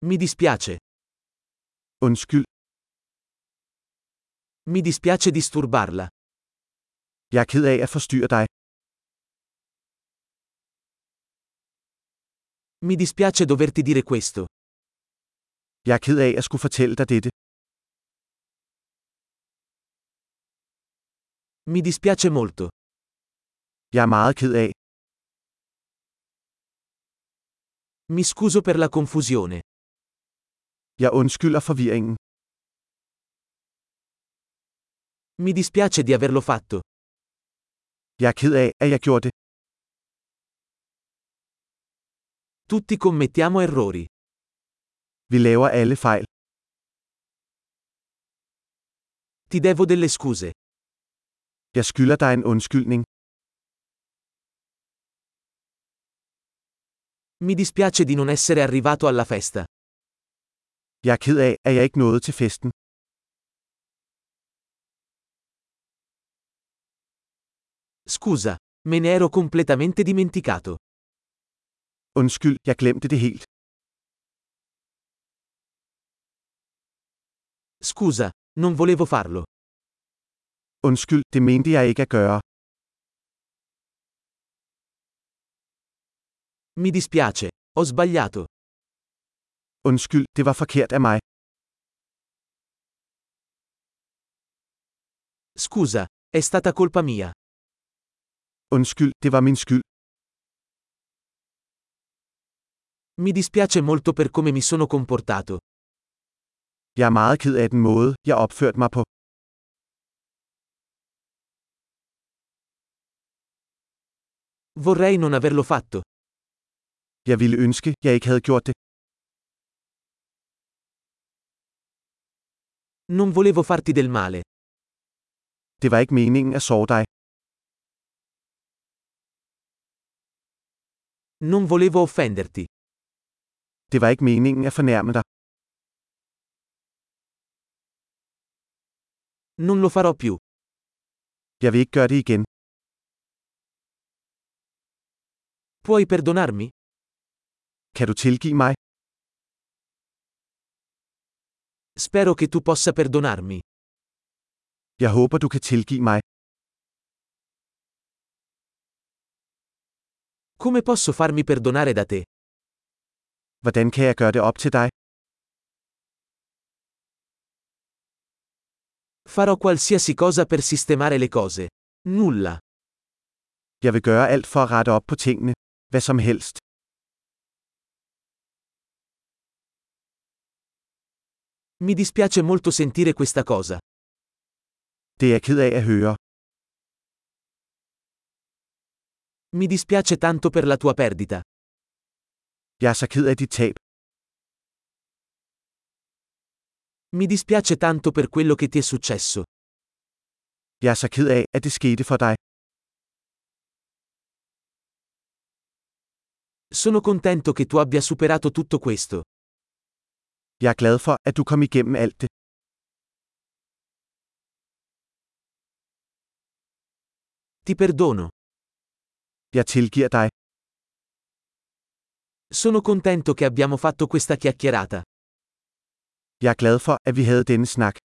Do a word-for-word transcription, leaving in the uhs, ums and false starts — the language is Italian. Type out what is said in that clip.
Mi dispiace. Undskyld. Mi dispiace disturbarla. Jeg er ked af at forstyrre dig. Mi dispiace doverti dire questo. Jeg er ked af at skulle fortælle dig dette. Mi dispiace molto. Jeg er meget ked af. Mi scuso per la confusione. Jeg undskylder forvirringen. Mi dispiace di averlo fatto. Jeg er ked af, at jeg gjorde det. Tutti commettiamo errori. Vi laver alle fejl. Ti devo delle scuse. Jeg skylder dig en undskyldning. Mi dispiace di non essere arrivato alla festa. Jeg er ked af, at jeg ikke nåede til festen. Scusa, me ne ero completamente dimenticato. Undskyld, jeg glemte det helt. Scusa, non volevo farlo. Undskyld, det mente jeg ikke at gøre. Mi dispiace, ho sbagliato. Undskyld, det var forkert af mig. Scusa, è stata colpa mia. Undskyld, det var min skyld. Mi dispiace molto per come mi sono comportato. Jeg er meget ked af den måde, jeg opførte mig på. Vorrei non averlo fatto. Jeg ville ønske, jeg ikke havde gjort det. Non volevo farti del male. Det var ikke meningen at såre dig. Non volevo offenderti. Det var ikke meningen at fornærme dig. Non lo farò più. Jeg vil ikke gøre det igen. Puoi perdonarmi? Kan du tilgive mig? Spero che tu possa perdonarmi. Jeg håber, du kan tilgive mig. Come posso farmi perdonare da te? Hvordan kan jeg gøre det op til dig? Farò qualsiasi cosa per sistemare le cose. Nulla. Jeg vil gøre alt for at rette op på tingene. Hvad som helst. Mi dispiace molto sentire questa cosa. Det er jeg ked af at høre. Mi dispiace tanto per la tua perdita. Jeg er så ked af dit tab. Mi dispiace tanto per quello che ti è successo. Jeg er så ked af, at det skete for dig. Sono contento che tu abbia superato tutto questo. Jeg er glad for, at du kom igennem alt det. Ti perdono. Jeg tilgiver dig. Sono contento che abbiamo fatto questa chiacchierata. Jeg er glad for, at vi havde denne snak.